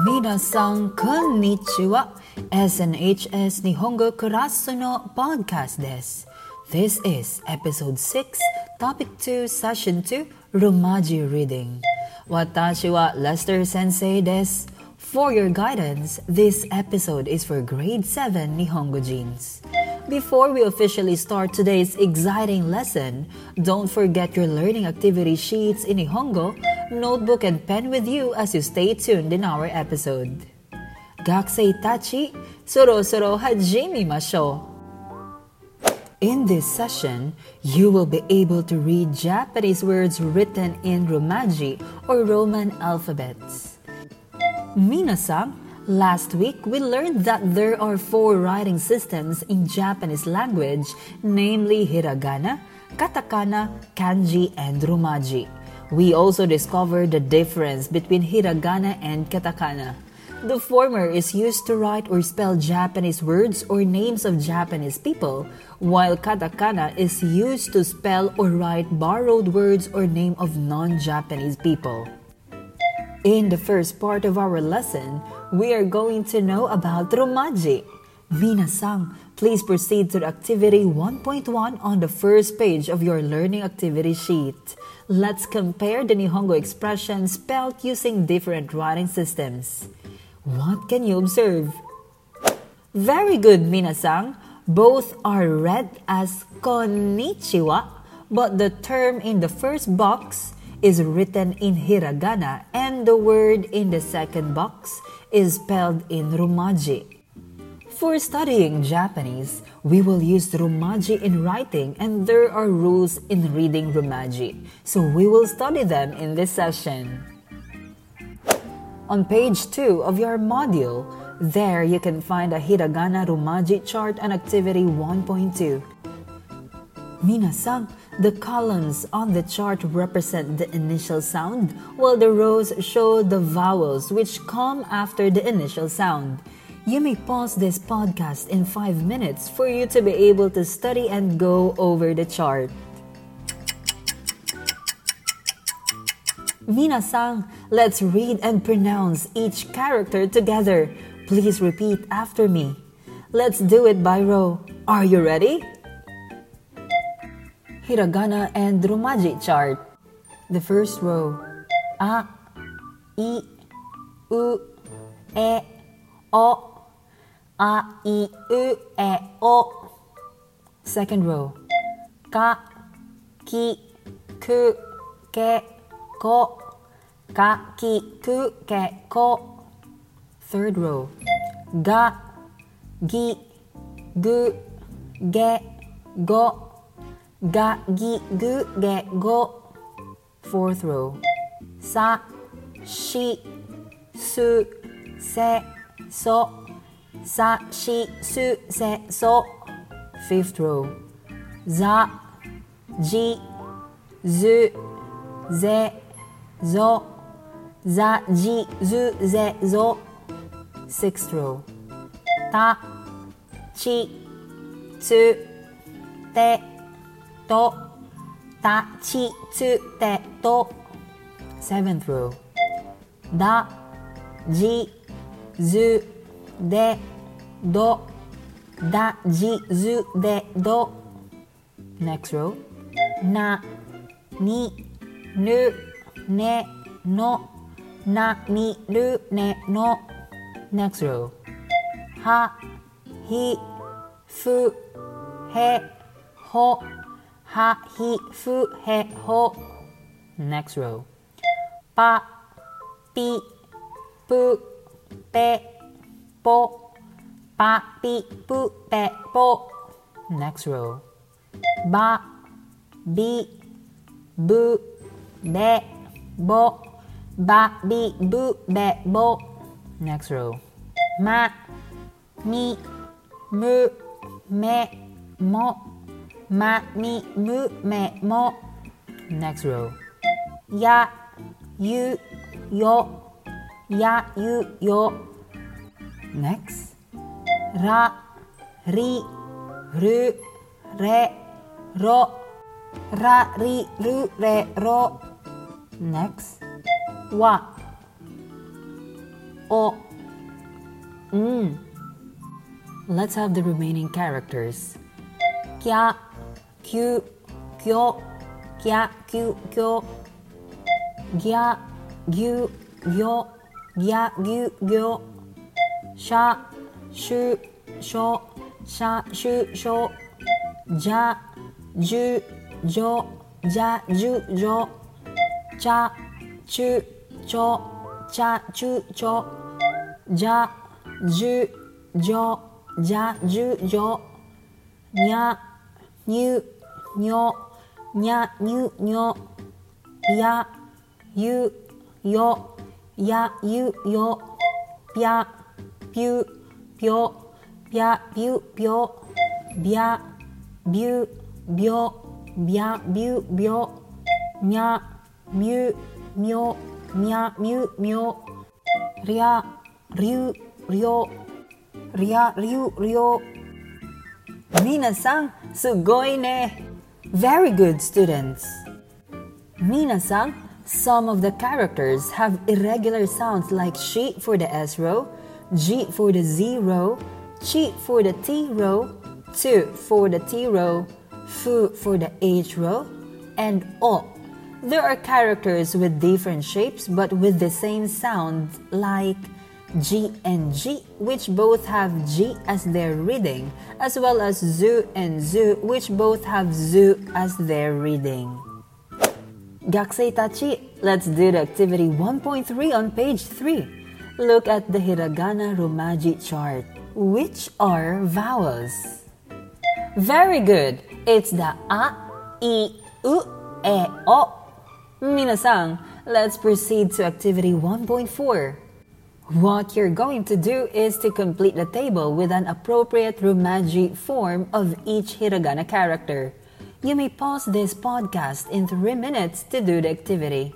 Minasan konnichiwa. SNHS Nihongo Kurasu no Podcast desu. This is Episode 6, Topic 2, Session 2, Romaji Reading. Watashi wa Lester Sensei desu. For your guidance, this episode is for Grade 7 Nihongo Jeans. Before we officially start today's exciting lesson, don't forget your learning activity sheets in Nihongo, notebook and pen with you as you stay tuned in our episode. Gakusei tachi, sorosoro hajimimashou. In this session, you will be able to read Japanese words written in Romaji or Roman alphabets. Minasan, last week we learned that there are 4 writing systems in Japanese language, namely hiragana, katakana, kanji, and romaji. We also discovered the difference between hiragana and katakana. The former is used to write or spell Japanese words or names of Japanese people, while katakana is used to spell or write borrowed words or name of non-Japanese people. In the first part of our lesson, we are going to know about romaji. Minasan, please proceed to activity 1.1 on the first page of your learning activity sheet. Let's compare the Nihongo expressions spelled using different writing systems. What can you observe? Very good, Minasan. Both are read as konnichiwa, but the term in the first box is written in hiragana and the word in the second box is spelled in romaji. For studying Japanese, we will use romaji in writing and there are rules in reading romaji, so we will study them in this session. On page 2 of your module, there you can find a hiragana romaji chart on activity 1.2. Minasan, the columns on the chart represent the initial sound, while the rows show the vowels which come after the initial sound. You may pause this podcast in 5 minutes for you to be able to study and go over the chart. Minasan, let's read and pronounce each character together. Please repeat after me. Let's do it by row. Are you ready? Hiragana and romaji chart. The first row. A, I, U, E, O. A, I, U, E, O. Second row. Ka, ki, ku, ke, ko. Ka, ki, ku, ke, ko. Third row. Ga, gi, gu, ge, go. Ga, gi, gu, ge, go. Fourth row. Sa, shi, su, se, so. Sa, shi, su, se, so. Fifth row. Za, ji, zu, ze, zo. Za, ji, zu, ze, zo. Sixth row. Ta, chi, tsu, te, to. Ta, chi, tsu, te, to. Seventh row. Da, ji, zu, de, do. Da, ji, zu, de, do. Next row. Na, ni, nu, ne, no. Na, ni, nu, ne, no. Next row. Ha, hi, fu, he, ho. Ha, hi, fu, he, ho. Next row. Pa, pi, pu, pe, po. Pa, pi, pu, pe, po. Next row. Ba, bi, bu, be, bo. Ba, bi, bu, be, bo. Next row. Ma, mi, mu, me, mo. Ma, mi, mu, me, mo. Next row. Ya, yu, yo. Ya, yu, yo. Next. Ra, ri, ru, re, ro. Ra, ri, ru, re, ro. Next. Wa, o. Let's have the remaining characters. Kya, kyu, kyo, kya, kyu, kyo. Gya, gyu, gyo, gya, gyu, gyo. Sha, shu, sho, sha, shu, sho. Ja, ju, jo, ja, ju, jo. Cha, chu, cho, cha, chu, cho. Ja, ju, jo, ja, ju, jo. Nya, nyu, nyo, nya, nyu, nyo. Ya, yu, yo, ya, yu, yo. Pya, pyu, pyo, pya, pyu, pyo. Bya, byu, byo, bya, byu, byo. Nya, myu, myo, mya, myu, myo. Rya, ryu, ryo, rya, ryu, ryo. Minasan, sugoi ne! Very good, students! Minasan, some of the characters have irregular sounds like shi for the S row, ji for the Z row, chi for the T row, tu for the T row, fu for the H row, and o. There are characters with different shapes but with the same sound like G and G, which both have G as their reading, as well as zu and zu, which both have zu as their reading. Gakusei tachi, let's do the activity 1.3 on page 3. Look at the hiragana romaji chart. Which are vowels? Very good! It's the a, I, u, e, o. Minasan, let's proceed to activity 1.4. What you're going to do is to complete the table with an appropriate romaji form of each hiragana character. You may pause this podcast in 3 minutes to do the activity.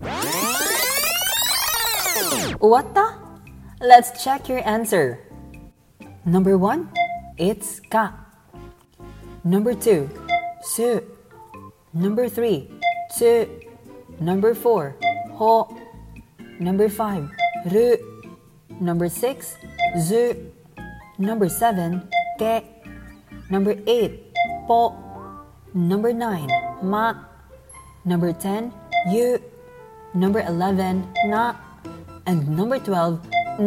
What the? Let's check your answer. Number 1, it's ka. Number 2, su. Number 3, tsu. Number 4, ho. Number 5, ru. Number 6, zu. Number 7, ke. Number 8, po. Number 9, ma. Number 10, yu. Number 11, na. And number 12,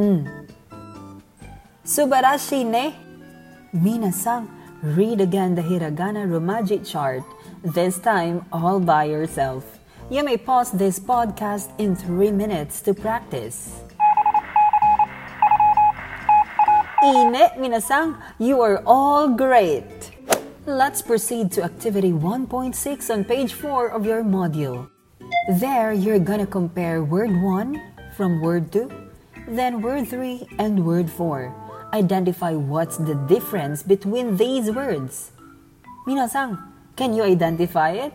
Subarashi ne! Minasan, read again the hiragana romaji chart, this time all by yourself. You may pause this podcast in 3 minutes to practice. Ine, minasan, you are all great! Let's proceed to activity 1.6 on page 4 of your module. There, you're gonna compare word 1 from word 2, then word 3 and word 4. Identify what's the difference between these words. Minasan, can you identify it?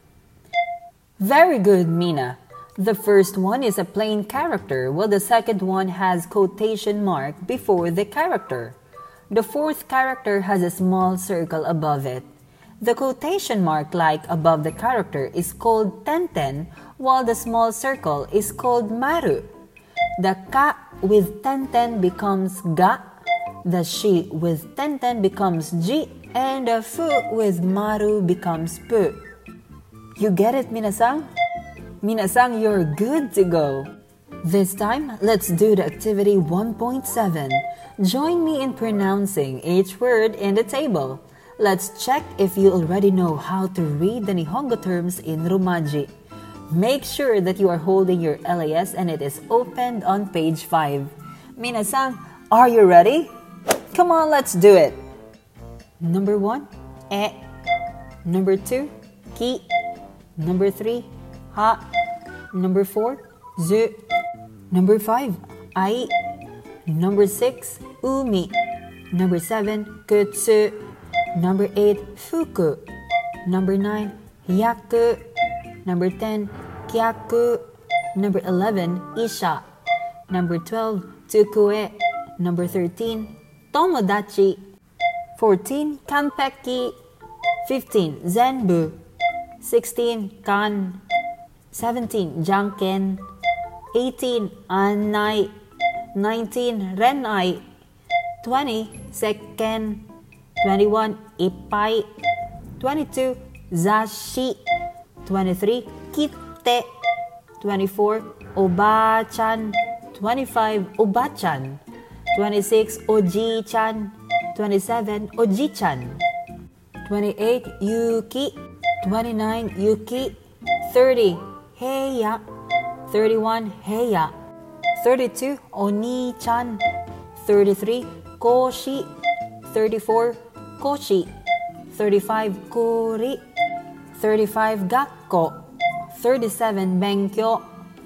Very good, Mina. The first one is a plain character, while the second one has quotation mark before the character. The fourth character has a small circle above it. The quotation mark like above the character is called tenten, while the small circle is called maru. The ka with tenten becomes ga, the shi with tenten becomes ji, and the fu with maru becomes pu. You get it, Minasan? Minasan, you're good to go. This time, let's do the activity 1.7. Join me in pronouncing each word in the table. Let's check if you already know how to read the Nihongo terms in Romaji. Make sure that you are holding your LAS and it is opened on page 5. Minasan, are you ready? Come on, let's do it. Number 1, e. Number 2, ki. Number 3, ha. Number 4, zu. Number 5, ai. Number 6, umi. Number 7, kutsu. Number 8, fuku. Number 9, hyaku. Number 10, kyaku. Number 11, isha. Number 12, tsukue. Number 13, tomodachi. 14, kanpeki. 15, zenbu. 16, kan. 17, janken. 18, anai. 19 renai, 20 seken, 21 ipai, 22 zashi, 23 kite, 24 obachan, 25 obachan, 26 oji-chan, 27 oji-chan, 28 yuki, 29 yuki, 30 heya, 31 heya, 32 oni-chan, 33 koshi, 34 koshi, 35 kuri, 35 gakko, 37 benkyo,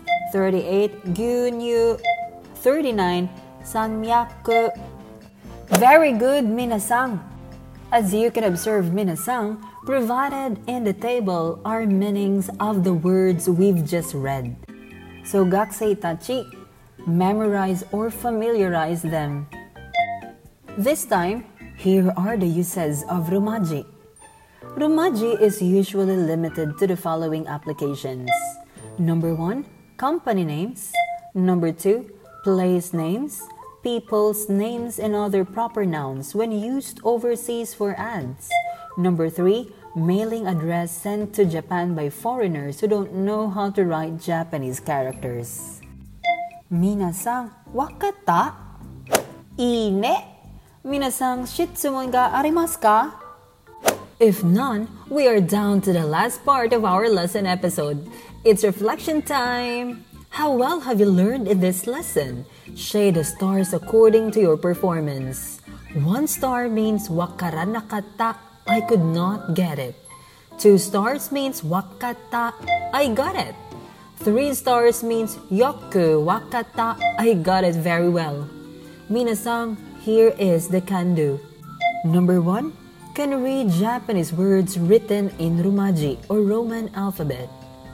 38 gyunyu, 39 sanmyaku. Very good, minasang! As you can observe, minasang, provided in the table are meanings of the words we've just read. So gakusei tachi, memorize or familiarize them. This time, here are the uses of romaji. Romaji is usually limited to the following applications. Number 1, company names. Number 2, place names, people's names and other proper nouns when used overseas for ads. Number 3, mailing address sent to Japan by foreigners who don't know how to write Japanese characters. Minasang, wakata? Ine? Minasang, shitsumon ga arimasu ka? If none, we are down to the last part of our lesson episode. It's reflection time! How well have you learned in this lesson? Shade the stars according to your performance. 1 star means wakaran nakata, I could not get it. 2 stars means wakata, I got it. 3 stars means yoku wakata, I got it very well. Minasang, here is the can-do. Number 1, can read Japanese words written in romaji or Roman alphabet.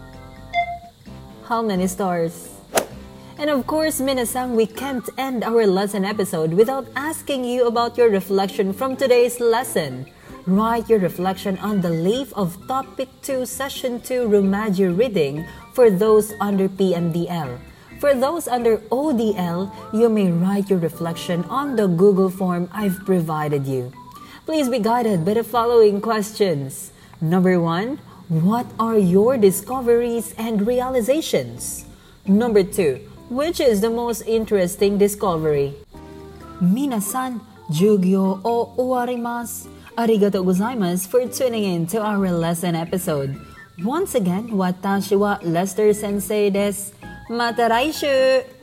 How many stars? And of course, minasang, we can't end our lesson episode without asking you about your reflection from today's lesson. Write your reflection on the leaf of Topic 2, Session 2 Romaji reading for those under PMDL. For those under ODL, you may write your reflection on the Google form I've provided you. Please be guided by the following questions. Number 1, what are your discoveries and realizations? Number 2, which is the most interesting discovery? Minasan, Jugyo o uwarimasu. Arigatou gozaimasu for tuning in to our lesson episode. Once again, watashi wa Lester Sensei desu. Mata raishu!